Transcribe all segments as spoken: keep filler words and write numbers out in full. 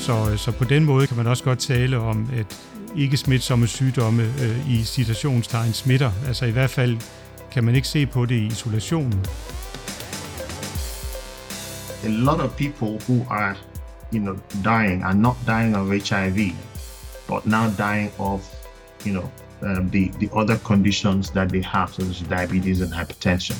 Så, så på den måde kan man også godt tale om, at ikke smitsomme sygdomme øh, i citationstegn smitter. Altså i hvert fald kan man ikke se på det i isolationen. A lot of people who are, you know, dying are not dying of H I V, but now dying of, you know, um, the, the other conditions that they have, such as diabetes and hypertension.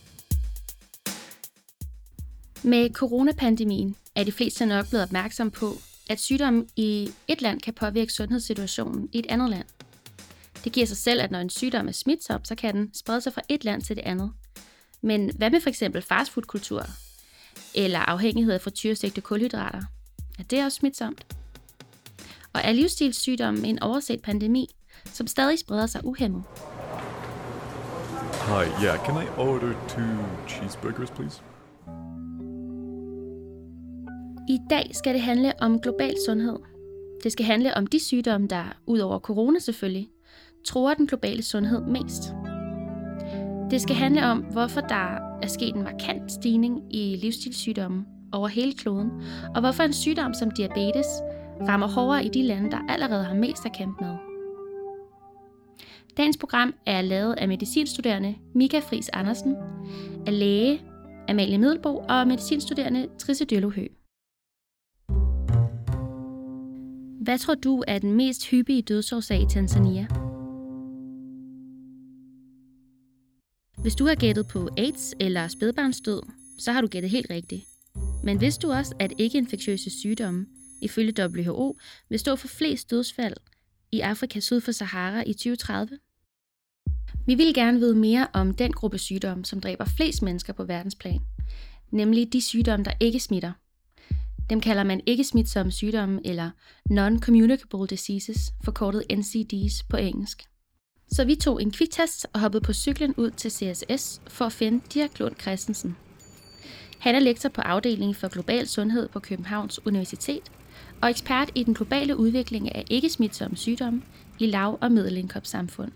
Med coronapandemien er de fleste nok blevet opmærksom på, at sygdommen i et land kan påvirke sundhedssituationen i et andet land. Det giver sig selv, at når en sygdom er smitsom, så kan den sprede sig fra et land til det andet. Men hvad med f.eks. fastfoodkultur eller afhængighed af frityrestegte kulhydrater? Er det også smitsomt? Og er livsstilssygdommen en overset pandemi, som stadig spreder sig uhæmmet? Hi, yeah, can I order two cheeseburgers, please? I dag skal det handle om global sundhed. Det skal handle om de sygdomme, der, ud over corona selvfølgelig, truer den globale sundhed mest. Det skal handle om, hvorfor der er sket en markant stigning i livsstilssygdomme over hele kloden, og hvorfor en sygdom som diabetes rammer hårdere i de lande, der allerede har mest at kæmpe med. Dagens program er lavet af medicinstuderende Mika Friis Andersen, af læge Amalie Middelbo og medicinstuderende Trisse Dyrlohø. Hvad tror du er den mest hyppige dødsårsag i Tanzania? Hvis du har gættet på AIDS eller spædbarnsdød, så har du gættet helt rigtigt. Men vidste du også, at ikke-infektiøse sygdomme, ifølge W H O, vil stå for flest dødsfald i Afrika syd for Sahara i tyve tredive? Vi vil gerne vide mere om den gruppe sygdomme, som dræber flest mennesker på verdensplan, nemlig de sygdomme, der ikke smitter. Dem kalder man ikke-smitsomme sygdomme eller non-communicable diseases, forkortet N C Ds på engelsk. Så vi tog en kviktest og hoppede på cyklen ud til C S S for at finde Dirk Lund Christensen. Han er lektor på afdelingen for global sundhed på Københavns Universitet og ekspert i den globale udvikling af ikke-smitsomme sygdomme i lav- og middelindkomstsamfund.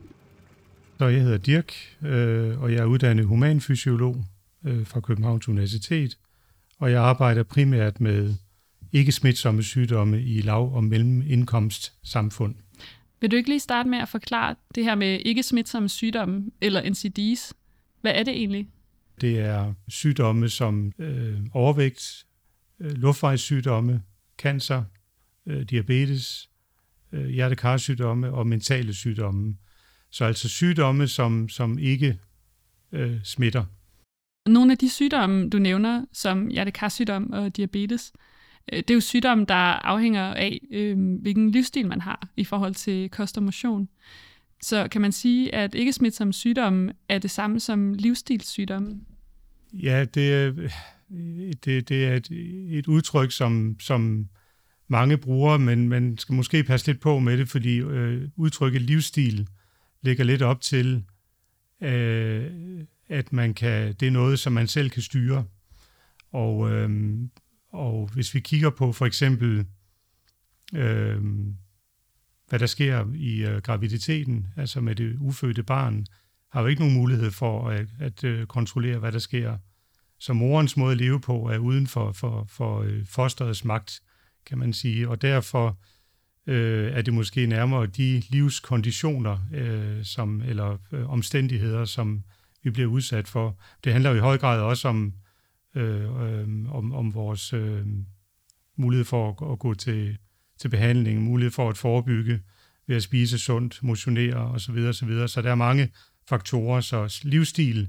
Så jeg hedder Dirk, øh, og jeg er uddannet humanfysiolog øh, fra Københavns Universitet, og jeg arbejder primært med ikke-smitsomme sygdomme i lav- og mellemindkomstsamfund. Vil du ikke lige starte med at forklare det her med ikke-smitsomme sygdomme, eller N C Ds? Hvad er det egentlig? Det er sygdomme som øh, overvægt, øh, luftvejssygdomme, cancer, øh, diabetes, øh, hjertekarsygdomme og mentale sygdomme. Så altså sygdomme, som, som ikke øh, smitter. Nogle af de sygdomme, du nævner, som hjertekarsygdom og diabetes, det er jo sygdomme, der afhænger af, øh, hvilken livsstil man har i forhold til kost og motion. Så kan man sige, at ikke-smitsomme sygdomme er det samme som livsstilssygdomme? Ja, det er, det, det er et, et udtryk, som, som mange bruger, men man skal måske passe lidt på med det, fordi øh, udtrykket livsstil ligger lidt op til, øh, at man kan, det er noget, som man selv kan styre. Og, øh, og hvis vi kigger på for eksempel, øh, hvad der sker i øh, graviditeten, altså med det ufødte barn, har jo ikke nogen mulighed for at, at øh, kontrollere, hvad der sker. Så morens måde at leve på er uden for, for, for øh, fosterets magt, kan man sige. Og derfor øh, er det måske nærmere de livskonditioner øh, som, eller øh, omstændigheder, som vi bliver udsat for. Det handler jo i høj grad også om, øh, øh, om, om vores øh, mulighed for at, at gå til, til behandling, mulighed for at forebygge ved at spise sundt, motionere osv. osv. Så der er mange faktorer, så livsstil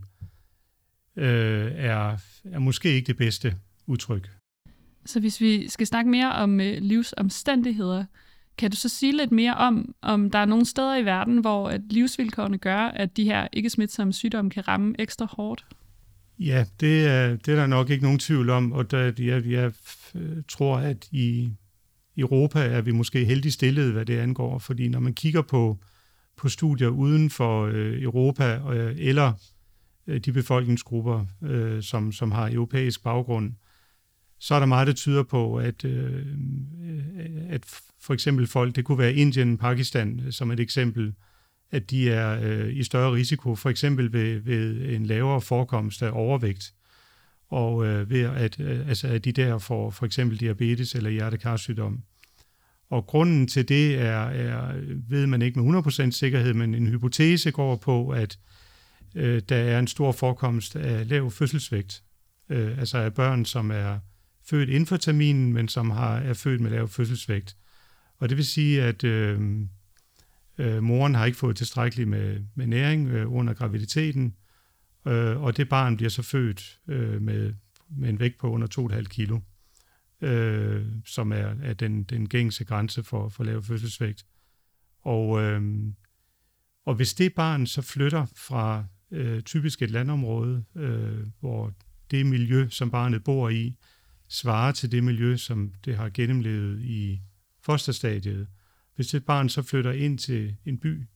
øh, er, er måske ikke det bedste udtryk. Så hvis vi skal snakke mere om øh, livsomstændigheder, kan du så sige lidt mere om, om der er nogle steder i verden, hvor at livsvilkårene gør, at de her ikke-smitsomme sygdomme kan ramme ekstra hårdt? Ja, det er, det er der nok ikke nogen tvivl om, og der, jeg, jeg tror, at i Europa er vi måske heldigt stillet, hvad det angår, fordi når man kigger på, på studier uden for øh, Europa øh, eller øh, de befolkningsgrupper, øh, som, som har europæisk baggrund, så er der meget, der tyder på, at, øh, at for eksempel folk, det kunne være Indien, Pakistan som et eksempel, at de er øh, i større risiko, for eksempel ved, ved en lavere forekomst af overvægt. og øh, ved at, øh, altså, at de der får for eksempel diabetes eller hjertekarsygdom. Og grunden til det er, er, ved man ikke med hundrede procent sikkerhed, men en hypotese går på, at øh, der er en stor forekomst af lav fødselsvægt. Øh, altså af børn, som er født inden for terminen, men som har, er født med lav fødselsvægt. Og det vil sige, at øh, øh, moren har ikke fået tilstrækkeligt med, med næring øh, under graviditeten, øh, og det barn bliver så født øh, med, med en vægt på under to komma fem kilo. Øh, som er, er den, den gængse grænse for, for lav fødselsvægt. Og, øh, og hvis det barn så flytter fra øh, typisk et landområde, øh, hvor det miljø, som barnet bor i, svarer til det miljø, som det har gennemlevet i fosterstadiet. Hvis det barn så flytter ind til en by,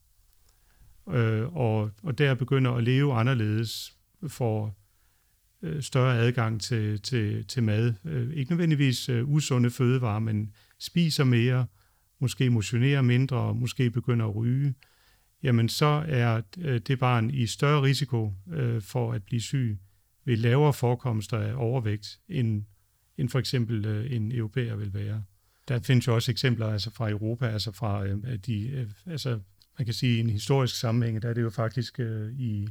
øh, og, og der begynder at leve anderledes, får større adgang til, til, til mad. Ikke nødvendigvis uh, usunde fødevarer, men spiser mere, måske motionerer mindre, måske begynder at ryge, jamen så er uh, det barn i større risiko uh, for at blive syg ved lavere forekomster af overvægt, end, end for eksempel uh, en europæer vil være. Der findes jo også eksempler altså fra Europa, altså fra uh, de, uh, altså man kan sige i en historisk sammenhæng, der er det jo faktisk uh, i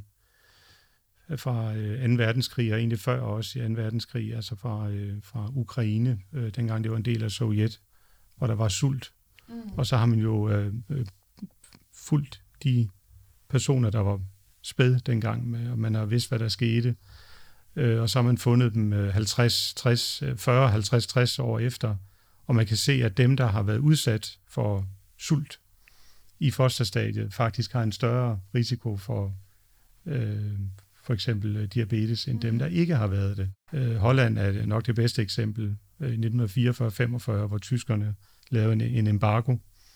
fra øh, anden verdenskrig, og egentlig før også i anden verdenskrig, altså fra, øh, fra Ukraine, øh, dengang det var en del af Sovjet, hvor der var sult. Mm. Og så har man jo øh, øh, fulgt de personer, der var spæd dengang, med, og man har vidst, hvad der skete. Øh, og så har man fundet dem halvtreds, tres, fyrre, halvtreds, tres år efter, og man kan se, at dem, der har været udsat for sult i fosterstadiet, faktisk har en større risiko for øh, for eksempel diabetes, end dem, der ikke har været det. Øh, Holland er nok det bedste eksempel. I nitten fireogfyrre femogfyrre, hvor tyskerne lavede en, en embargo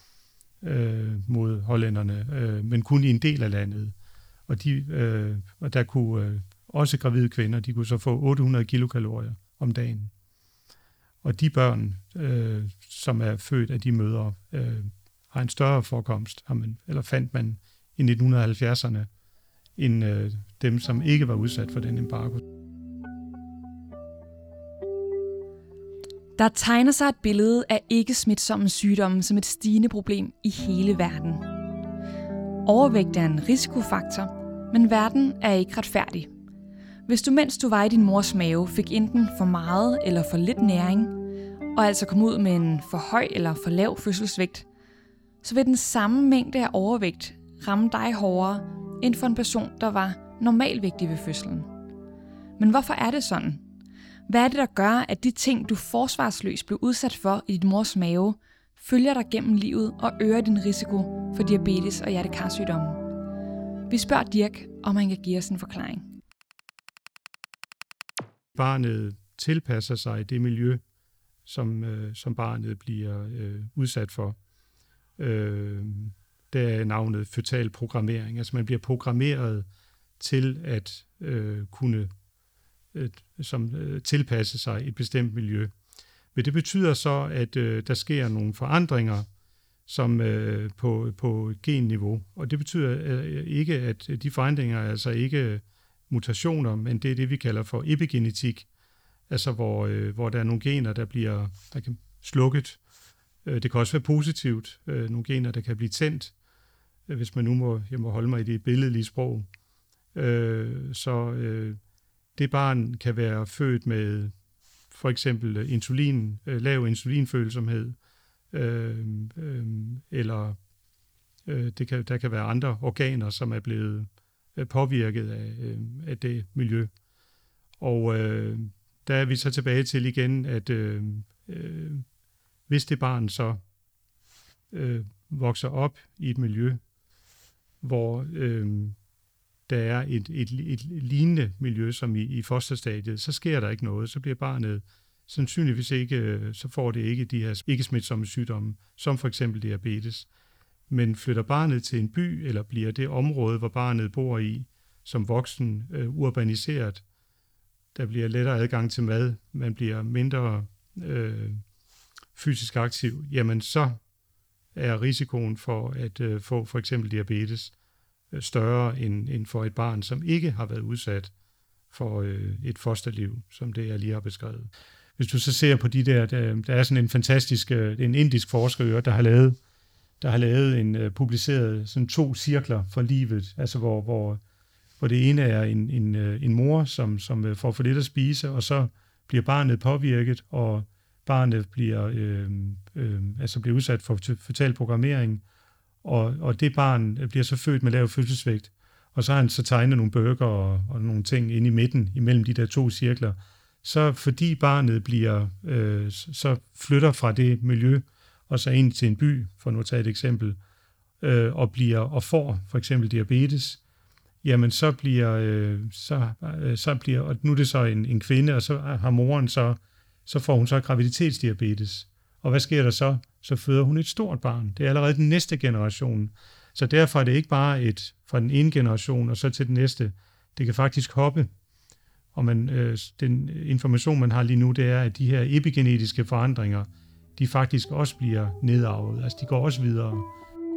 øh, mod hollænderne, øh, men kun i en del af landet. Og, de, øh, og der kunne øh, også gravide kvinder, de kunne så få otte hundrede kilokalorier om dagen. Og de børn, øh, som er født af de mødre, øh, har en større forekomst, har man, eller fandt man i nitten halvfjerdserne, end øh, dem, som ikke var udsat for den embargo. Der tegner sig et billede af ikke-smitsomme sygdomme som et stigende problem i hele verden. Overvægt er en risikofaktor, men verden er ikke retfærdig. Hvis du, mens du var i din mors mave, fik enten for meget eller for lidt næring, og altså kom ud med en for høj eller for lav fødselsvægt, så vil den samme mængde af overvægt ramme dig hårdere end for en person, der var normalvægtig ved fødslen. Men hvorfor er det sådan? Hvad er det, der gør, at de ting, du forsvarsløst blev udsat for i din mors mave, følger dig gennem livet og øger din risiko for diabetes og hjertekarsygdomme? Vi spørger Dirk, om han kan give os en forklaring. Barnet tilpasser sig det miljø, som, øh, som barnet bliver øh, udsat for. Øh, det er navnet føtal programmering. Altså man bliver programmeret til at øh, kunne øh, som, øh, tilpasse sig et bestemt miljø. Men det betyder så, at øh, der sker nogle forandringer som øh, på, på genniveau. Og det betyder øh, ikke, at de forandringer er altså ikke mutationer, men det er det, vi kalder for epigenetik. Altså hvor, øh, hvor der er nogle gener, der bliver der kan slukket. Det kan også være positivt. Nogle gener, der kan blive tændt, hvis man nu må, jeg må holde mig i det billedlige sprog. Så det barn kan være født med for eksempel insulin, lav insulinfølsomhed, eller det kan, der kan være andre organer, som er blevet påvirket af, af det miljø. Og der er vi så tilbage til igen, at hvis det barn så øh, vokser op i et miljø, hvor øh, der er et, et, et lignende miljø som i, i fosterstadiet, så sker der ikke noget. Så bliver barnet sandsynligvis ikke, så får det ikke de her ikke-smitsomme sygdomme, som for eksempel diabetes. Men flytter barnet til en by, eller bliver det område, hvor barnet bor i, som voksen, øh, urbaniseret, der bliver lettere adgang til mad, man bliver mindre øh, fysisk aktiv, jamen så er risikoen for at øh, få for eksempel diabetes øh, større end, end for et barn, som ikke har været udsat for øh, et fosterliv, som det jeg lige har beskrevet. Hvis du så ser på de der, der, der er sådan en fantastisk, øh, en indisk forsker, der har lavet, der har lavet en øh, publiceret sådan to cirkler for livet, altså hvor, hvor, hvor det ene er en, en, en mor, som, som får for lidt at spise, og så bliver barnet påvirket, og barnet bliver, øh, øh, altså bliver udsat for fetal programmering, og, og det barn bliver så født med lav fødselsvægt, og så har han så tegnet nogle burger og, og nogle ting inde i midten, imellem de der to cirkler. Så fordi barnet bliver, øh, så flytter fra det miljø, og så ind til en by, for nu at tage et eksempel, øh, og bliver og får for eksempel diabetes, jamen så bliver, øh, så, øh, så bliver, og nu er det så en, en kvinde, og så har moren så, så får hun så graviditetsdiabetes. Og hvad sker der så? Så føder hun et stort barn. Det er allerede den næste generation. Så derfor er det ikke bare et fra den ene generation og så til den næste. Det kan faktisk hoppe. Og man, øh, den information, man har lige nu, det er, at de her epigenetiske forandringer, de faktisk også bliver nedarvet. Altså, de går også videre.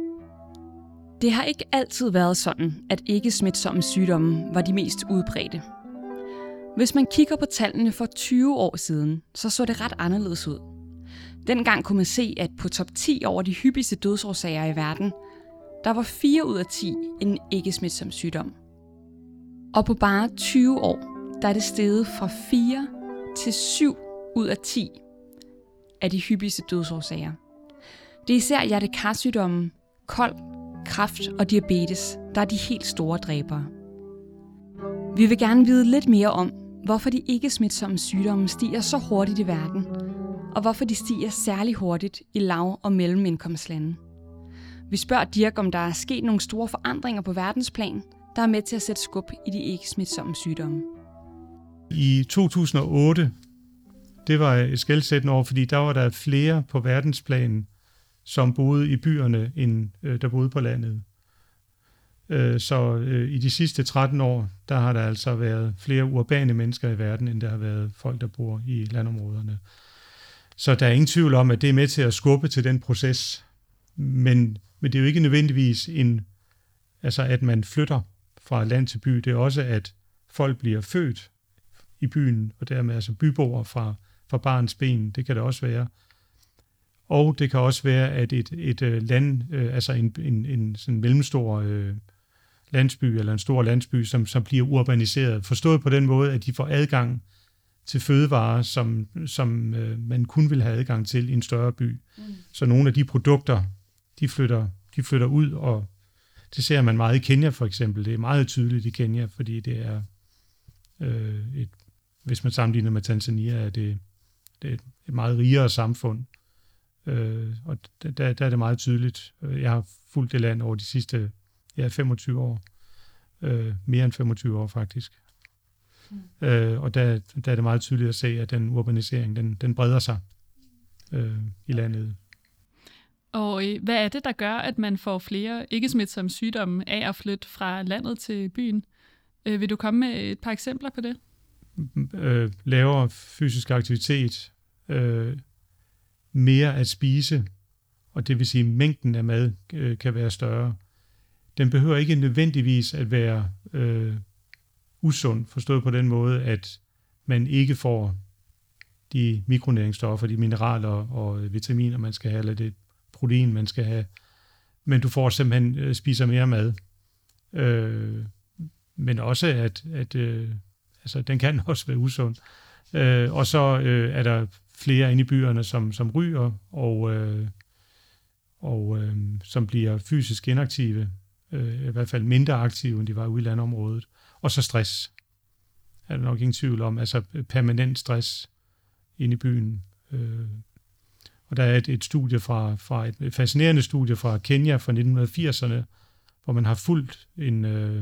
Det har ikke altid været sådan, at ikke-smitsomme sygdomme var de mest udbredte. Hvis man kigger på tallene for tyve år siden, så så det ret anderledes ud. Dengang kunne man se, at på top ti over de hyppigste dødsårsager i verden, der var fire ud af ti en ikke-smitsom sygdom. Og på bare tyve år, der er det steget fra fire til syv ud af ti af de hyppigste dødsårsager. Det er især hjertekarsygdomme, kold, kræft og diabetes, der er de helt store dræbere. Vi vil gerne vide lidt mere om, hvorfor de ikke-smitsomme sygdomme stiger så hurtigt i verden, og hvorfor de stiger særlig hurtigt i lav- og mellemindkomstlande. Vi spørger Dirk, om der er sket nogle store forandringer på verdensplan, der er med til at sætte skub i de ikke-smitsomme sygdomme. I to tusind og otte, det var et skelsættende år, fordi der var der flere på verdensplan, som boede i byerne, end øh, der boede på landet. Øh, så øh, i de sidste tretten år, der har der altså været flere urbane mennesker i verden, end der har været folk, der bor i landområderne. Så der er ingen tvivl om, at det er med til at skubbe til den proces. Men, men det er jo ikke nødvendigvis en, altså at man flytter fra land til by. Det er også, at folk bliver født i byen, og dermed altså byboere fra, fra barns ben. Det kan det også være. Og det kan også være, at et, et land, øh, altså en, en, en sådan mellemstor øh, landsby, eller en stor landsby, som, som bliver urbaniseret. Forstået på den måde, at de får adgang til fødevarer, som, som øh, man kun vil have adgang til i en større by. Mm. Så nogle af de produkter, de flytter, de flytter ud, og det ser man meget i Kenya for eksempel. Det er meget tydeligt i Kenya, fordi det er, øh, et, hvis man sammenligner med Tanzania, er det, det er et meget rigere samfund. Øh, og der, der er det meget tydeligt. Jeg har fulgt det land over de sidste ja, femogtyve år. Øh, mere end femogtyve år faktisk. Mm. Øh, og der, der er det meget tydeligt at se, at den urbanisering, den, den breder sig øh, i landet. Og hvad er det, der gør, at man får flere ikke-smitsomme sygdomme af at flytte fra landet til byen? Øh, vil du komme med et par eksempler på det? Øh, lavere fysisk aktivitet, øh, mere at spise, og det vil sige, at mængden af mad øh, kan være større. Den behøver ikke nødvendigvis at være øh, usund, forstået på den måde, at man ikke får de mikronæringsstoffer, de mineraler og vitaminer, man skal have, eller det protein, man skal have, men du får simpelthen øh, spiser mere mad. Øh, men også, at, at øh, altså, den kan også være usund. Øh, og så øh, er der flere inde i byerne, som, som ryger, og, øh, og øh, som bliver fysisk inaktive, øh, i hvert fald mindre aktive, end de var ude i landområdet. Og så stress. Er der nok ingen tvivl om, altså permanent stress inde i byen. Øh, og der er et, et studie fra, fra et, et fascinerende studie fra Kenya fra nitten firserne, hvor man har fulgt en øh,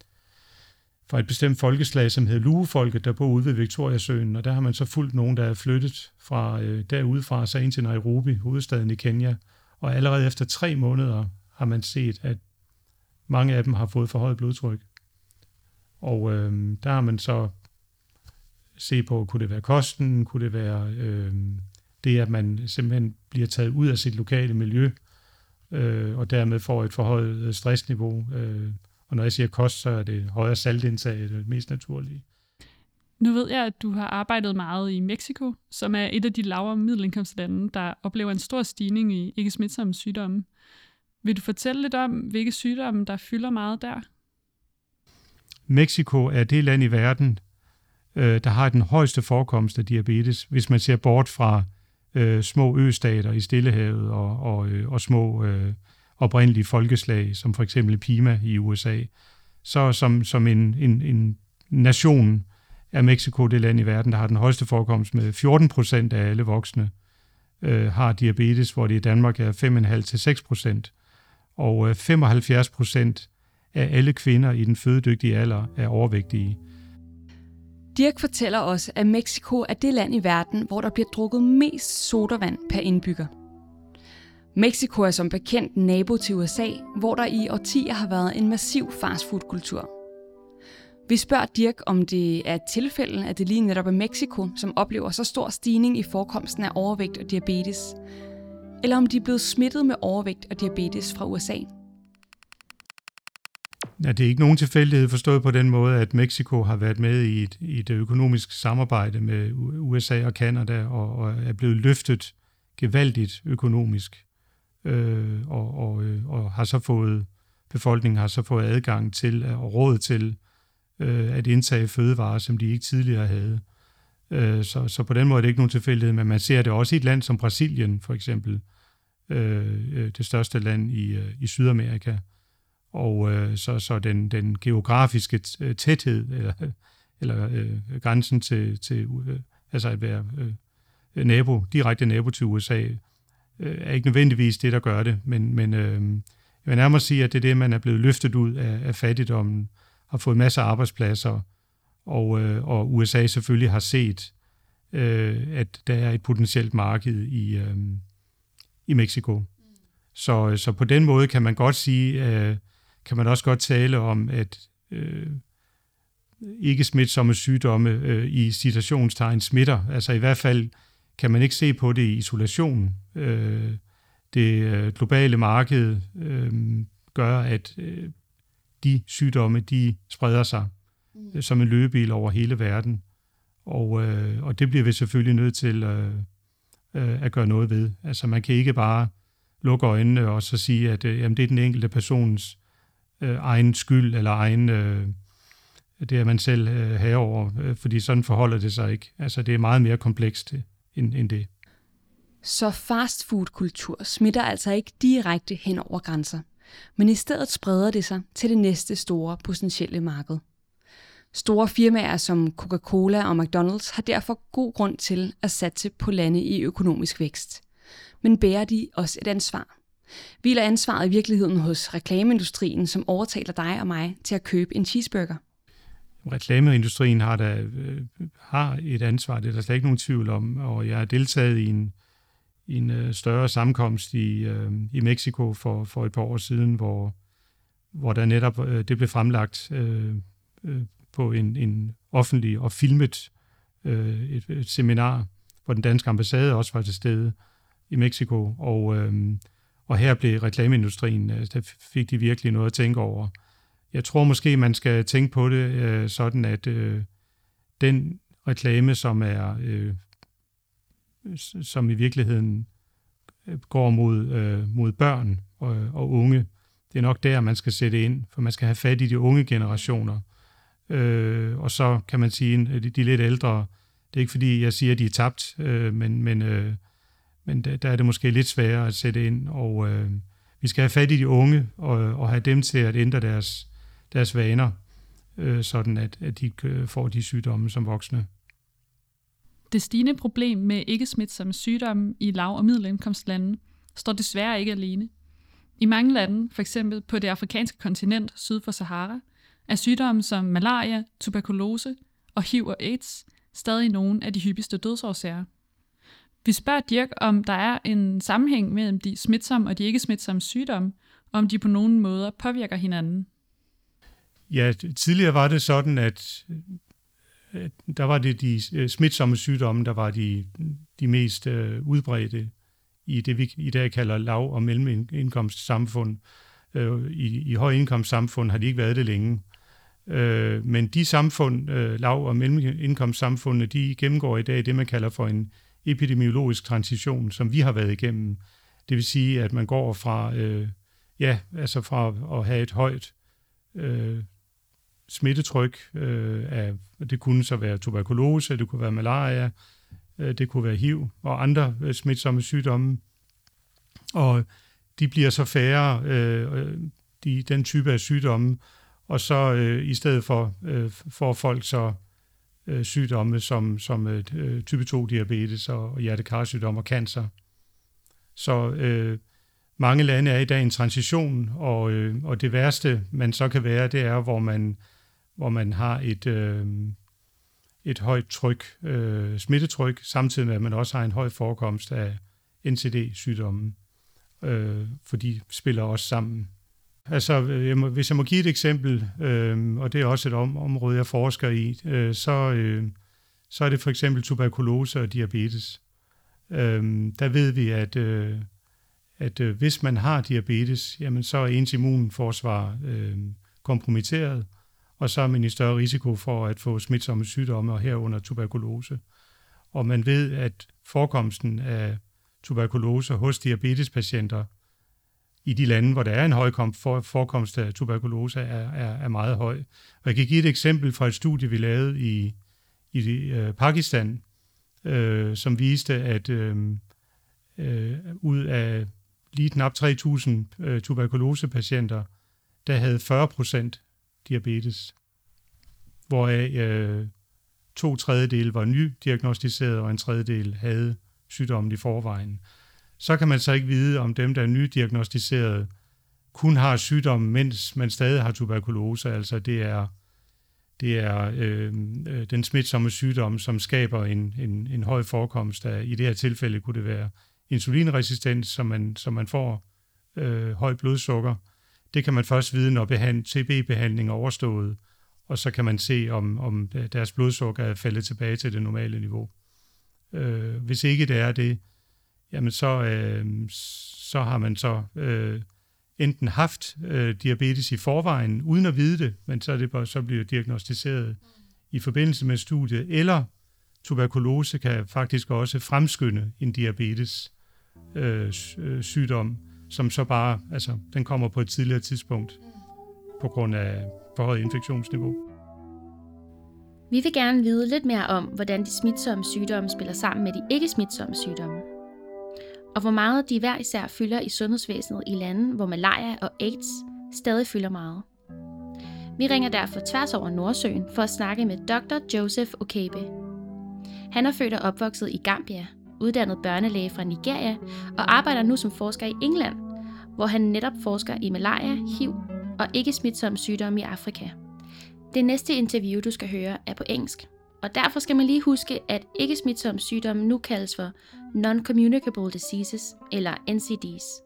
fra et bestemt folkeslag, som hedder Luo-folket, der bor ude ved Victoriasøen, og der har man så fulgt nogen, der er flyttet fra øh, derudefra, så ind til Nairobi, hovedstaden i Kenya, og allerede efter tre måneder har man set, at mange af dem har fået forhøjet blodtryk. Og øh, der har man så set på, kunne det være kosten, kunne det være øh, det, at man simpelthen bliver taget ud af sit lokale miljø, øh, og dermed får et forhøjet stressniveau. Øh, og når jeg siger kost, så er det højere saltindtag, det mest naturlige. Nu ved jeg, at du har arbejdet meget i Mexico, som er et af de lavere middelindkomstlande, der oplever en stor stigning i ikke-smitsomme sygdomme. Vil du fortælle lidt om, hvilke sygdomme, der fylder meget der? Mexico er det land i verden, øh, der har den højeste forekomst af diabetes, hvis man ser bort fra øh, små østater i Stillehavet og, og, øh, og små øh, oprindelige folkeslag, som for eksempel Pima i U S A. Så som, som en, en, en nation er Mexico det land i verden, der har den højeste forekomst med fjorten procent af alle voksne øh, har diabetes, hvor det i Danmark er fem komma fem til seks procent. Og øh, femoghalvfjerds procent af alle kvinder i den fødedygtige alder er overvægtige. Dirk fortæller også, at Mexico er det land i verden, hvor der bliver drukket mest sodavand per indbygger. Mexico er som bekendt nabo til U S A, hvor der i årtier har været en massiv fastfood-kultur. Vi spørger Dirk, om det er et tilfælde, at det lige netop er Mexico, som oplever så stor stigning i forekomsten af overvægt og diabetes, eller om de er blevet smittet med overvægt og diabetes fra U S A. Ja, det er ikke nogen tilfældighed forstået på den måde, at Mexico har været med i et, i et økonomisk samarbejde med U S A og Canada og, og er blevet løftet gevaldigt økonomisk. Øh, og, og, og har så fået, befolkningen har så fået adgang til og råd til øh, at indtage fødevarer, som de ikke tidligere havde. Øh, så, så på den måde er det ikke nogen tilfældighed, men man ser det også i et land som Brasilien, for eksempel, øh, det største land i, i Sydamerika. Og øh, så, så den, den geografiske tæthed, eller, eller øh, grænsen til, til øh, altså at være øh, nabo, direkte nabo til U S A, øh, er ikke nødvendigvis det, der gør det. Men, men øh, jeg vil nærmere sige, at det er det, man er blevet løftet ud af, af fattigdommen, har fået masser af arbejdspladser, og, øh, og U S A selvfølgelig har set, øh, at der er et potentielt marked i, øh, i Mexico. Så, så på den måde kan man godt sige, øh, kan man også godt tale om, at øh, ikke smitsomme sygdomme øh, i citationstegn smitter. Altså i hvert fald kan man ikke se på det i isolation. Øh, det øh, globale marked øh, gør, at øh, de sygdomme, de spreder sig mm. som en løbebil over hele verden. Og, øh, og det bliver vi selvfølgelig nødt til øh, øh, at gøre noget ved. Altså man kan ikke bare lukke øjnene og så sige, at øh, jamen, det er den enkelte persons øh, egen skyld, eller egen, øh, det er man selv øh, herover, øh, fordi sådan forholder det sig ikke. Altså det er meget mere komplekst end, end det. Så fastfood-kultur smitter altså ikke direkte hen over grænser, men i stedet spreder det sig til det næste store potentielle marked. Store firmaer som Coca-Cola og McDonald's har derfor god grund til at satse på lande i økonomisk vækst. Men bærer de også et ansvar? Hviler ansvaret i virkeligheden hos reklameindustrien, som overtaler dig og mig til at købe en cheeseburger? Reklameindustrien har, der, øh, har et ansvar, det er der slet ikke nogen tvivl om, og jeg har deltaget i en, i en øh, større sammenkomst i, øh, i Mexico for, for et par år siden, hvor, hvor der netop øh, det blev fremlagt øh, øh, på en, en offentlig og filmet øh, et, et seminar, hvor den danske ambassade også var til stede i Mexico, og, øh, og her blev reklameindustrien, øh, der fik de virkelig noget at tænke over. Jeg tror måske, man skal tænke på det øh, sådan, at øh, den reklame, som er øh, som i virkeligheden går mod, øh, mod børn og, og unge, det er nok der, man skal sætte ind, for man skal have fat i de unge generationer. Øh, og så kan man sige, at de, de lidt ældre, det er ikke fordi, jeg siger, at de er tabt, øh, men, men, øh, men der, der er det måske lidt sværere at sætte ind, og øh, vi skal have fat i de unge og, og have dem til at ændre deres deres vaner, øh, sådan at, at de får de sygdomme som voksne. Det stigende problem med ikke-smitsomme sygdomme i lav- og middelindkomstlande står desværre ikke alene. I mange lande, f.eks. på det afrikanske kontinent syd for Sahara, er sygdomme som malaria, tuberkulose og H I V og AIDS stadig nogle af de hyppigste dødsårsager. Vi spørger Dirk, om der er en sammenhæng mellem de smitsomme og de ikke-smitsomme sygdomme, og om de på nogen måder påvirker hinanden. Ja, tidligere var det sådan, at, at der var det de smitsomme sygdomme, der var de, de mest uh, udbredte i det, vi i dag kalder lav- og mellemindkomstsamfund. Uh, i, I højindkomstsamfund har de ikke været det længe. Øh, men de samfund, øh, lav- og mellemindkomstsamfundene, de gennemgår i dag det, man kalder for en epidemiologisk transition, som vi har været igennem. Det vil sige, at man går fra, øh, ja, altså fra at have et højt øh, smittetryk øh, af, det kunne så være tuberkulose, det kunne være malaria, øh, det kunne være H I V og andre øh, smitsomme sygdomme. Og de bliver så færre, øh, de, den type af sygdomme, og så øh, i stedet for øh, får folk så øh, sygdomme som, som øh, type to diabetes og hjertekarsygdom og cancer. Så øh, mange lande er i dag i en transition, og, øh, og det værste, man så kan være, det er, hvor man, hvor man har et, øh, et højt tryk, øh, smittetryk, samtidig med, at man også har en høj forekomst af N C D-sygdommen, øh, for de spiller også sammen. Altså, jeg må, hvis jeg må give et eksempel, øh, og det er også et om, område, jeg forsker i, øh, så, øh, så er det for eksempel tuberkulose og diabetes. Øh, der ved vi, at, øh, at øh, hvis man har diabetes, jamen, så er ens immunforsvar øh, kompromitteret, og så er man i større risiko for at få smitsomme sygdomme, og herunder tuberkulose. Og man ved, at forekomsten af tuberkulose hos diabetespatienter i de lande, hvor der er en høj forekomst af tuberkulose, er, er, er meget høj. Og jeg kan give et eksempel fra et studie, vi lavede i, i uh, Pakistan, øh, som viste, at øh, øh, ud af lige knap tre tusind øh, tuberkulosepatienter, der havde fyrre procent diabetes, hvoraf øh, to tredjedele var nydiagnostiseret, og en tredjedel havde sygdommen i forvejen. Så kan man så ikke vide, om dem, der er nydiagnostiseret, kun har sygdommen, mens man stadig har tuberkulose. Altså det er, det er øh, den smitsomme sygdom, som skaber en, en, en høj forekomst af, i det her tilfælde kunne det være insulinresistens, som man, som man får øh, høj blodsukker. Det kan man først vide, når behand, T B-behandling er overstået, og så kan man se, om, om deres blodsukker er faldet tilbage til det normale niveau. Øh, hvis ikke det er det, jamen så, øh, så har man så øh, enten haft øh, diabetes i forvejen, uden at vide det, men så, er det bare, så bliver det diagnostiseret i forbindelse med studiet, eller tuberkulose kan faktisk også fremskynde en diabetes øh, sygdom, som så bare, altså den kommer på et tidligere tidspunkt på grund af forhøjet infektionsniveau. Vi vil gerne vide lidt mere om, hvordan de smitsomme sygdomme spiller sammen med de ikke-smitsomme sygdomme, og hvor meget de hver især fylder i sundhedsvæsenet i lande, hvor malaria og AIDS stadig fylder meget. Vi ringer derfor tværs over Nordsøen for at snakke med doktor Joseph Okebe. Han er født og opvokset i Gambia, uddannet børnelæge fra Nigeria og arbejder nu som forsker i England, hvor han netop forsker i malaria, H I V og ikke-smitsomme sygdomme i Afrika. Det næste interview, du skal høre, er på engelsk, og derfor skal man lige huske, at ikke-smitsomme sygdomme nu kaldes for non-communicable diseases, eller N C Ds.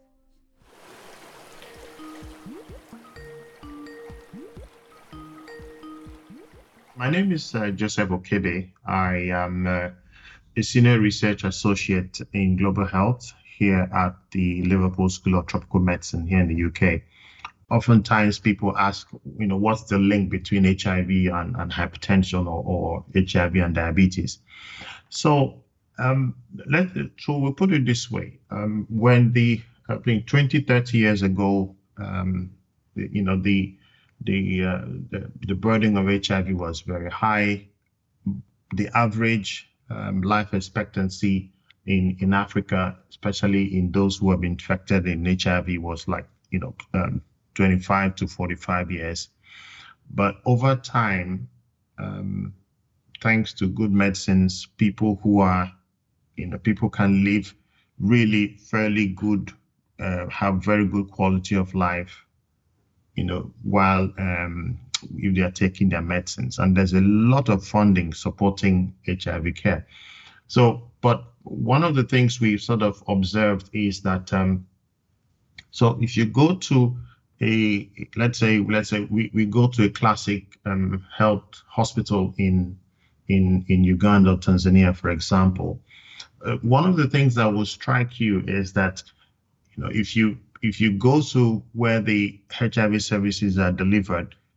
My name is uh, Joseph Okebe. I am uh, a senior research associate in global health here at the Liverpool School of Tropical Medicine here in the U K. Oftentimes people ask, you know, what's the link between H I V and, and hypertension or, or H I V and diabetes? So, um, let, so we'll put it this way. Um, when the, I think twenty, thirty years ago, um, the, you know, the, the, uh, the, the burden of H I V was very high. The average um, life expectancy in, in Africa, especially in those who have been infected in H I V, was like, you know, um, twenty-five to forty-five years. But over time, um, thanks to good medicines, people who are, you know, people can live really fairly good, uh, have very good quality of life, you know, while um, if they are taking their medicines. And there's a lot of funding supporting H I V care. So, but one of the things we've sort of observed is that, um, so if you go to a, let's say, let's say we, we go to a classic um, health hospital in, in, in Uganda or Tanzania, for example, uh, one of the things that will strike you is that, you know, if you, if you go to where the H I V services are delivered,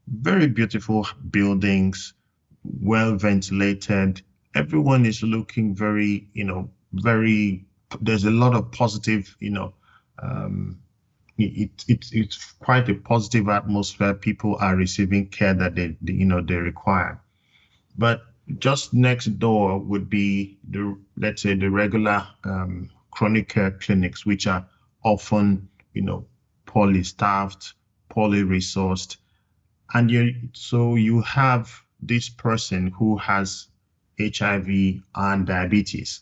very beautiful buildings, well ventilated. Everyone is looking very, you know, very, there's a lot of positive, you know, um, it, it, it's quite a positive atmosphere. People are receiving care that they, they, you know, they require. But just next door would be the, let's say, the regular um, chronic care clinics, which are often, you know, poorly staffed, poorly resourced. And you, so you have this person who has H I V and diabetes.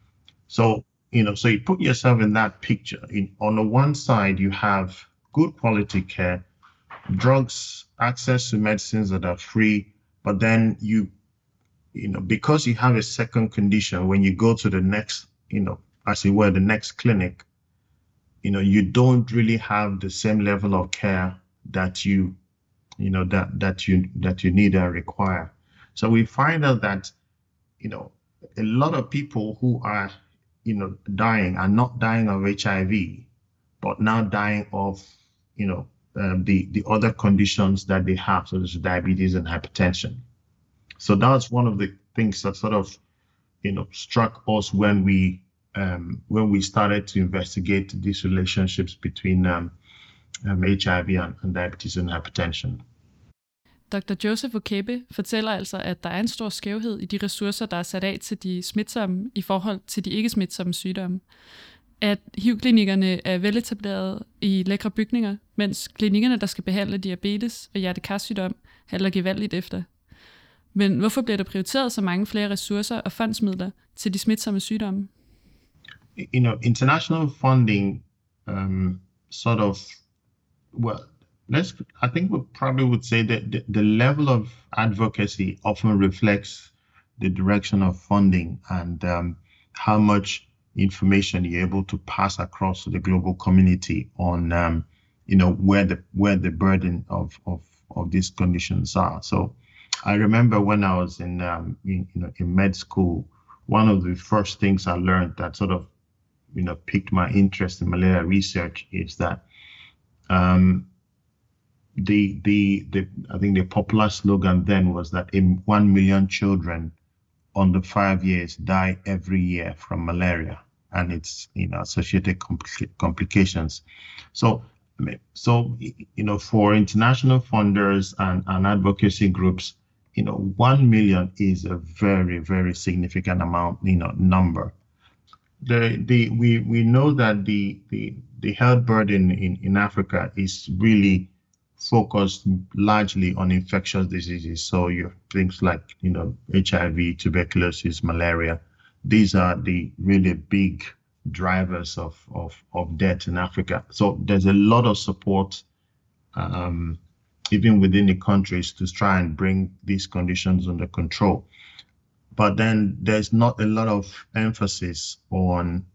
So, you know, so you put yourself in that picture. In, on the one side, you have good quality care, drugs, access to medicines that are free, but then you, you know, because you have a second condition, when you go to the next, you know, as it were, the next clinic, you know, you don't really have the same level of care that you, you know, that, that you, that you need and require. So we find out that, you know, a lot of people who are, you know, dying are not dying of H I V, but now dying of, you know, um, the, the other conditions that they have. So there's diabetes and hypertension. So that's one of the things that sort of, you know, struck us when we, um, when we started to investigate these relationships between um, um, H I V and, and diabetes and hypertension. doktor Joseph Okebe fortæller altså, at der er en stor skævhed i de ressourcer, der er sat af til de smitsomme i forhold til de ikke-smitsomme sygdomme. At H I V-klinikkerne er veletableret i lækre bygninger, mens klinikkerne, der skal behandle diabetes og hjertekarsygdom, halter gevaldigt efter. Men hvorfor bliver der prioriteret så mange flere ressourcer og fondsmidler til de smitsomme sygdomme? You know, international funding um, sort of, well, let's, I think we probably would say that the, the level of advocacy often reflects the direction of funding and um, how much information you're able to pass across to the global community on, um, you know, where the where the burden of of of these conditions are. So, I remember when I was in, um, in you know in med school, one of the first things I learned that sort of, you know, piqued my interest in malaria research is that um, the the the I think the popular slogan then was that in one million children under five years die every year from malaria and its, you know, associated compl- complications. So, so you know, for international funders and, and advocacy groups, you know, one million is a very, very significant amount, you know, number. The the we we know that the the the health burden in in Africa is really focused largely on infectious diseases. So you things like, you know, H I V, tuberculosis, malaria. These are the really big drivers of, of, of death in Africa. So there's a lot of support, um, even within the countries, to try and bring these conditions under control. But then there's not a lot of emphasis on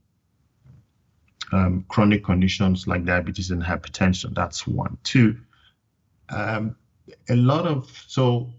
um, chronic conditions like diabetes and hypertension. That's one. Two, Um, a lot of so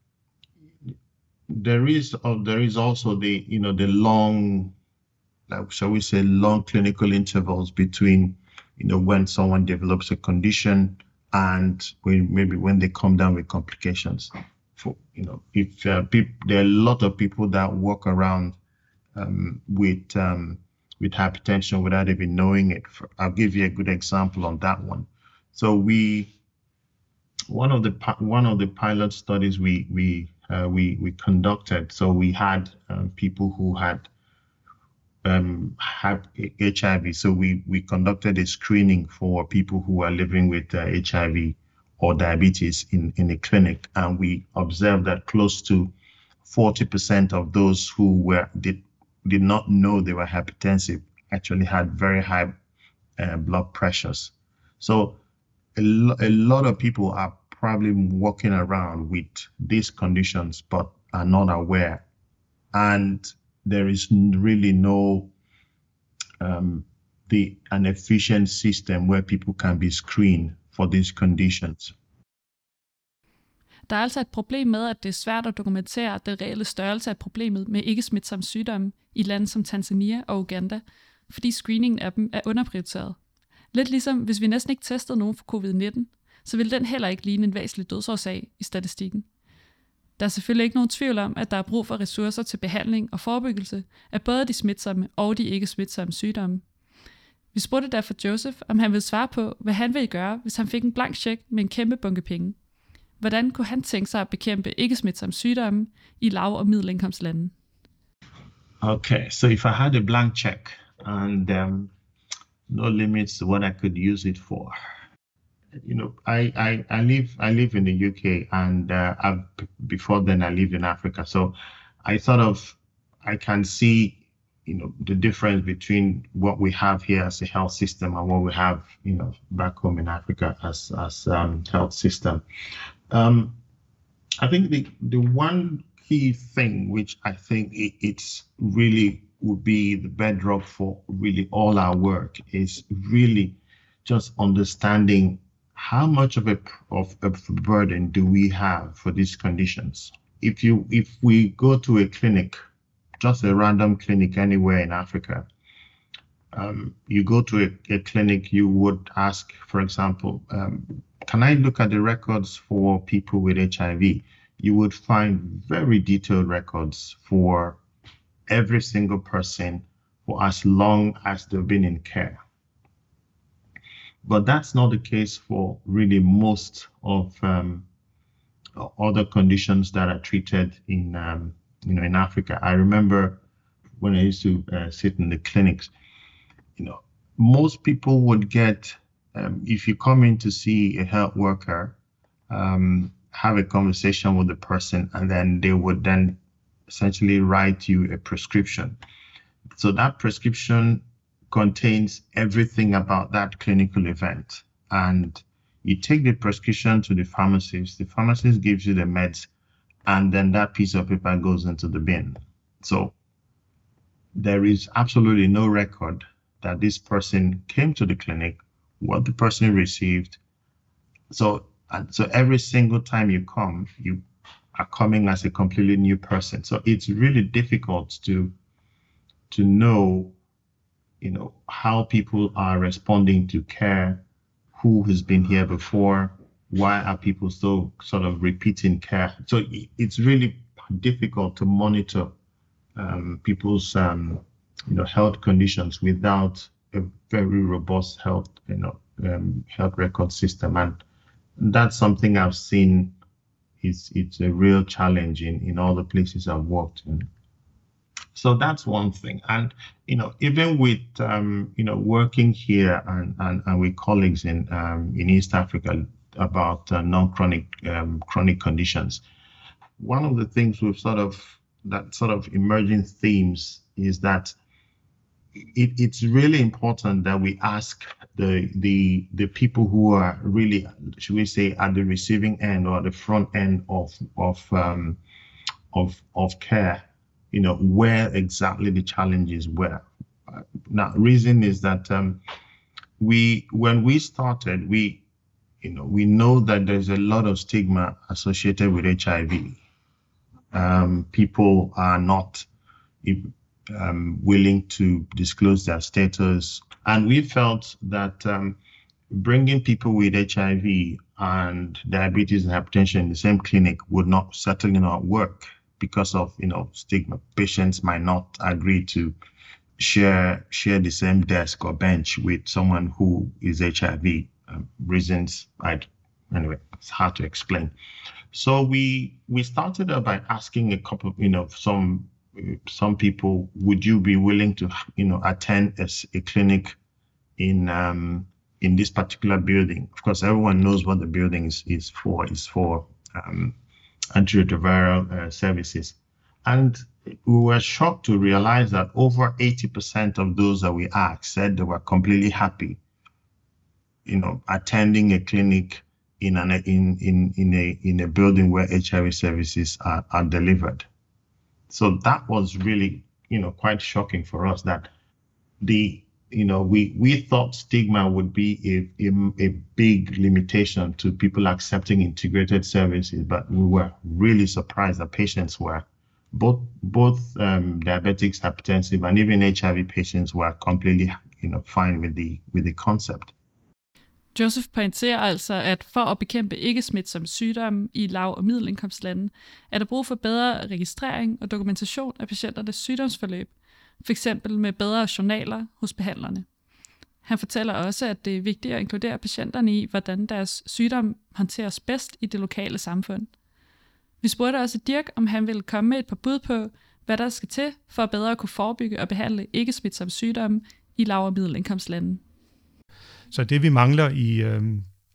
there is uh, there is also the you know the long, like, shall we say, long clinical intervals between, you know, when someone develops a condition and when maybe when they come down with complications. For, you know, if uh, people, there are a lot of people that walk around um, with um, with hypertension without even knowing it. For, I'll give you a good example on that one. So we. One of the one of the pilot studies we we uh, we we conducted. So we had uh, people who had um, had H I V. So we we conducted a screening for people who are living with uh, H I V or diabetes in in a clinic, and we observed that close to forty percent of those who were did did not know they were hypertensive actually had very high uh, blood pressures. So A, lo- a lot of people are probably walking around with these conditions but are not aware, and there is really no um, the an efficient system where people can be screened for these conditions. Der er altså et problem med, at det er svært at dokumentere den reelle størrelse af problemet med ikke-smitsomme sygdomme i lande som Tanzania og Uganda, fordi screeningen af dem er underprioriteret. Lidt ligesom hvis vi næsten ikke testede nogen for covid nitten, så vil den heller ikke ligne en væsentlig dødsårsag i statistikken. Der er selvfølgelig ikke nogen tvivl om, at der er brug for ressourcer til behandling og forebyggelse af både de smitsomme og de ikke smitsomme sygdomme. Vi spurgte derfor Joseph, om han ville svare på, hvad han ville gøre, hvis han fik en blank check med en kæmpe bunke penge. Hvordan kunne han tænke sig at bekæmpe ikke smitsomme sygdomme i lav- og middelindkomstlande? Okay, so if I had a blank check and um, no limits to what I could use it for, you know, I, I, I live I live in the U K, and uh, I've, before then I lived in Africa. So I sort of I can see, you know, the difference between what we have here as a health system and what we have, you know, back home in Africa as as um, health system. Um, I think the the one key thing which I think it, it's really would be the bedrock for really all our work is really just understanding how much of a of a burden do we have for these conditions. If you if we go to a clinic, just a random clinic anywhere in Africa, um, you go to a, a clinic, you would ask, for example, um, can I look at the records for people with H I V? You would find very detailed records for every single person for as long as they've been in care. But that's not the case for really most of um, other conditions that are treated in, um, you know, in Africa. I remember when I used to uh, sit in the clinics, you know, most people would get, um, if you come in to see a health worker, um, have a conversation with the person, and then they would then essentially write you a prescription. So that prescription contains everything about that clinical event. And you take the prescription to the pharmacist, the pharmacist gives you the meds, and then that piece of paper goes into the bin. So there is absolutely no record that this person came to the clinic, what the person received. So, and so every single time you come, you are coming as a completely new person. So it's really difficult to to know, you know, how people are responding to care, who has been here before, why are people still sort of repeating care. So it's really difficult to monitor um, people's um, you know, health conditions without a very robust health, you know, um, health record system. And that's something I've seen. It's it's a real challenge in, in all the places I've worked in. So that's one thing. And, you know, even with, um, you know, working here and, and, and with colleagues in um, in East Africa about uh, non-chronic um, chronic conditions, one of the things we've sort of, that sort of emerging themes is that it, it's really important that we ask the the the people who are really, should we say, at the receiving end or the front end of of um, of of care, you know, where exactly the challenges were. Uh, now, reason is that um, we, when we started, we, you know, we know that there's a lot of stigma associated with H I V. Um, people are not um, willing to disclose their status, and we felt that um, bringing people with H I V and diabetes and hypertension in the same clinic would not certainly not work, because of, you know, stigma. Patients might not agree to share share the same desk or bench with someone who is H I V. Um, reasons, I anyway, it's hard to explain. So we we started out by asking a couple, you know, some some people, would you be willing to, you know, attend a, a clinic in um, in this particular building? Of course, everyone knows what the building is, is for. It's for um, antiretroviral uh, services. And we were shocked to realize that over eighty percent of those that we asked said they were completely happy, you know, attending a clinic in an in in in a in a building where H I V services are, are delivered. So that was really, you know, quite shocking for us, that the, you know, we we thought stigma would be a, a, a big limitation to people accepting integrated services, but we were really surprised that patients were, both both um, diabetics, hypertensive, and even H I V patients were completely, you know, fine with the with the concept. Joseph pointerer altså, at for at bekæmpe ikke-smitsomme sygdomme i lav- og middelindkomstlande, er der brug for bedre registrering og dokumentation af patienternes sygdomsforløb, f.eks. med bedre journaler hos behandlerne. Han fortæller også, at det er vigtigt at inkludere patienterne i, hvordan deres sygdom håndteres bedst i det lokale samfund. Vi spurgte også Dirk, om han ville komme med et par bud på, hvad der skal til for at bedre kunne forebygge og behandle ikke-smitsomme sygdomme i lav- og middelindkomstlande. Så det vi mangler i, øh,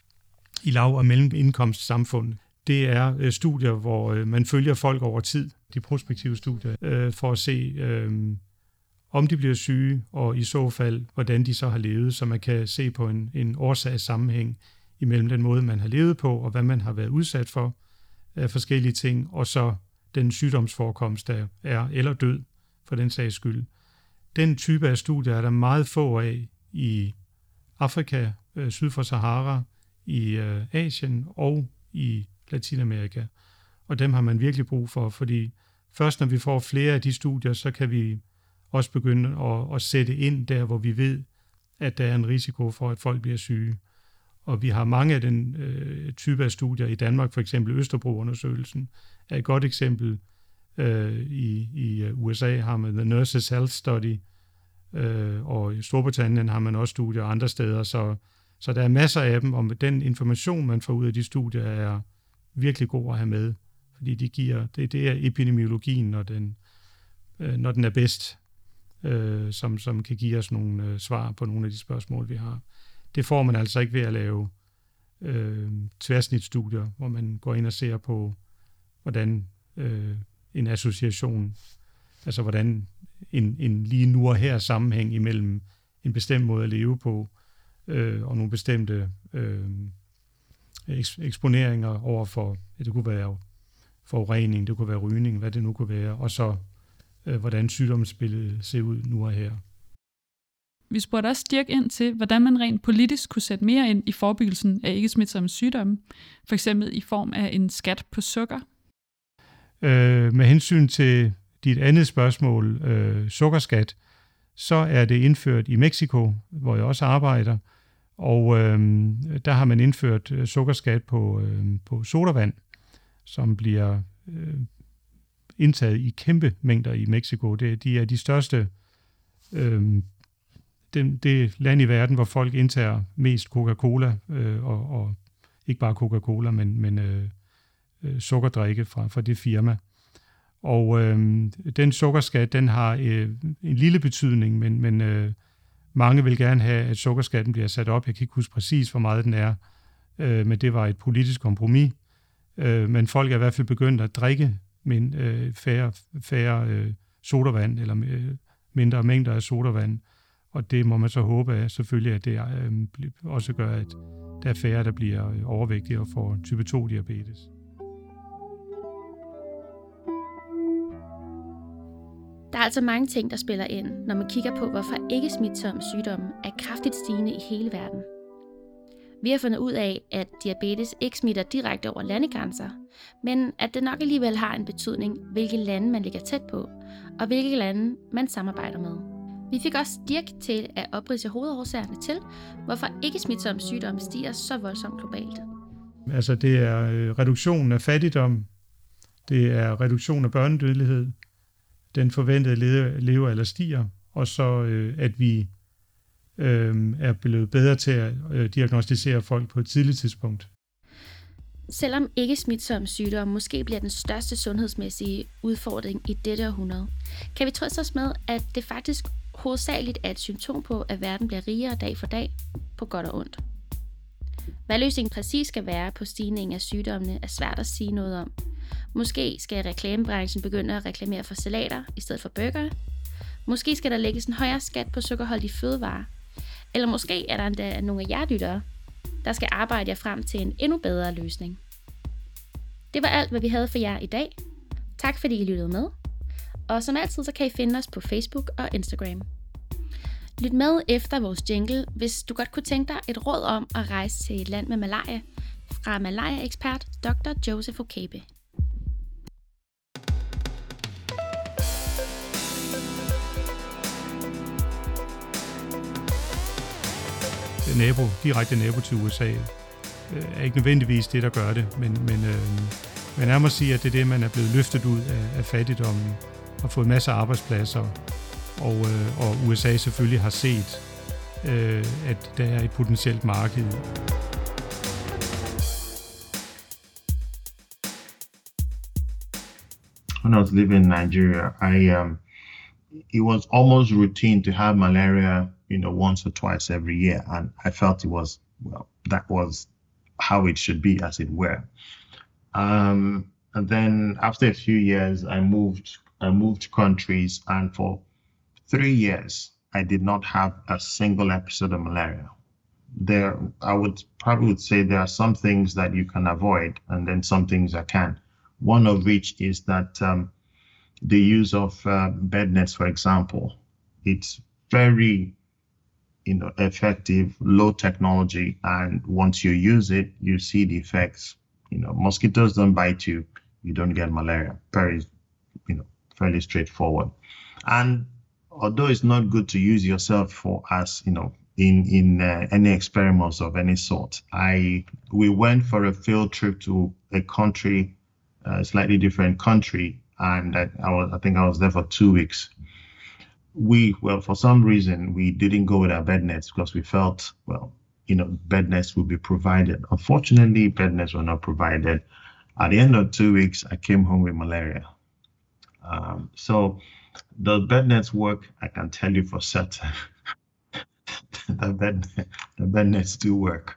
i lav- og mellemindkomstsamfund, det er øh, studier, hvor øh, man følger folk over tid, de prospektive studier, øh, for at se, øh, om de bliver syge, og i så fald, hvordan de så har levet, så man kan se på en, en årsagssammenhæng imellem den måde, man har levet på, og hvad man har været udsat for af forskellige ting, og så den sygdomsforekomst, der er, eller død, for den sags skyld. Den type af studier er der meget få af i Afrika, øh, syd for Sahara, i øh, Asien og i Latinamerika. Og dem har man virkelig brug for, fordi først når vi får flere af de studier, så kan vi også begynde at, at sætte ind der, hvor vi ved, at der er en risiko for, at folk bliver syge. Og vi har mange af den øh, type af studier i Danmark, for eksempel Østerbro-undersøgelsen, er et godt eksempel. Øh, i, I U S A har man The Nurses Health Study, øh, og i Storbritannien har man også studier andre steder, så, så der er masser af dem, og den information, man får ud af de studier, er virkelig god at have med, fordi de giver, det, det er epidemiologien, når den, øh, når den er bedst, øh, som, som kan give os nogle øh, svar på nogle af de spørgsmål, vi har. Det får man altså ikke ved at lave øh, tværsnitsstudier, hvor man går ind og ser på, hvordan øh, en association, altså hvordan en, en lige nu og her sammenhæng imellem en bestemt måde at leve på øh, og nogle bestemte øh, eksponeringer over for, det kunne være forurening, det kunne være rygning, hvad det nu kunne være, og så øh, hvordan sygdomsbilledet ser ud nu og her. Vi spurgte også Dirk ind til, hvordan man rent politisk kunne sætte mere ind i forebyggelsen af ikke-smitsomme sygdomme, for eksempel i form af en skat på sukker. Øh, med hensyn til dit andet spørgsmål, øh, sukkerskat, så er det indført i Mexico, hvor jeg også arbejder, og øh, der har man indført sukkerskat på, øh, på sodavand, som bliver øh, indtaget i kæmpe mængder i Mexico. Det, de er de største, øh, det, det land i verden, hvor folk indtager mest Coca-Cola, øh, og, og ikke bare Coca-Cola, men, men øh, sukkerdrikke fra, fra det firma. Og øh, den sukkerskat, den har øh, en lille betydning, men, men øh, mange vil gerne have, at sukkerskatten bliver sat op. Jeg kan ikke huske præcis, hvor meget den er, øh, men det var et politisk kompromis. Øh, men folk er i hvert fald begyndt at drikke men, øh, færre, færre øh, sodavand, eller øh, mindre mængder af sodavand. Og det må man så håbe, at selvfølgelig, at det øh, også gør, at der er færre, der bliver overvægtige og får type to diabetes. Der er altså mange ting, der spiller ind, når man kigger på, hvorfor ikke-smitsomme sygdomme er kraftigt stigende i hele verden. Vi har fundet ud af, at diabetes ikke smitter direkte over landegrænser, men at det nok alligevel har en betydning, hvilke lande man ligger tæt på, og hvilke lande man samarbejder med. Vi fik også Dirk til at opridse hovedårsagerne til, hvorfor ikke-smitsomme sygdomme stiger så voldsomt globalt. Altså det er reduktionen af fattigdom, det er reduktion af børnedødelighed, den forventede levealder stiger, og så øh, at vi øh, er blevet bedre til at øh, diagnostisere folk på et tidligt tidspunkt. Selvom ikke-smitsomme sygdomme måske bliver den største sundhedsmæssige udfordring i dette århundrede, kan vi trøste os med, at det faktisk hovedsageligt er et symptom på, at verden bliver rigere dag for dag, på godt og ondt. Hvad løsningen præcis skal være på stigningen af sygdommene, er svært at sige noget om. Måske skal reklamebranchen begynde at reklamere for salater i stedet for burger. Måske skal der lægges en højere skat på sukkerholdige fødevarer. Eller måske er der endda nogle af jer lyttere, der skal arbejde jer frem til en endnu bedre løsning. Det var alt, hvad vi havde for jer i dag. Tak fordi I lyttede med. Og som altid, så kan I finde os på Facebook og Instagram. Lyt med efter vores jingle, hvis du godt kunne tænke dig et råd om at rejse til et land med malaria, fra malaria-ekspert doktor Joseph Okabe. Den nabo, direkte nabo til U S A, øh, er ikke nødvendigvis det, der gør det, men, men øh, man nærmere sige, at det er det, man er blevet løftet ud af, af fattigdommen og fået masser af arbejdspladser, og, øh, og U S A selvfølgelig har set, øh, at der er et potentielt marked. When I was living in Nigeria, I um, it was almost routine to have malaria, you know, once or twice every year, and I felt it was, well, that was how it should be, as it were. Um, and then after a few years, I moved, I moved countries, and for three years, I did not have a single episode of malaria. There, I would probably would say there are some things that you can avoid, and then some things I can. One of which is that um, the use of uh, bed nets, for example, it's very, you know, effective, low technology, and once you use it, you see the effects. You know, mosquitoes don't bite you, you don't get malaria. Very, you know, fairly straightforward. And although it's not good to use yourself for as, you know, in in uh, any experiments of any sort, I we went for a field trip to a country. A slightly different country, and I, I was I think I was there for two weeks. We well for some reason we didn't go with our bed nets because we felt, well, you know, bed nets would be provided. Unfortunately, bed nets were not provided. At the end of two weeks, I came home with malaria. Um, so does bed nets work? I can tell you for certain. the bed the bed nets do work.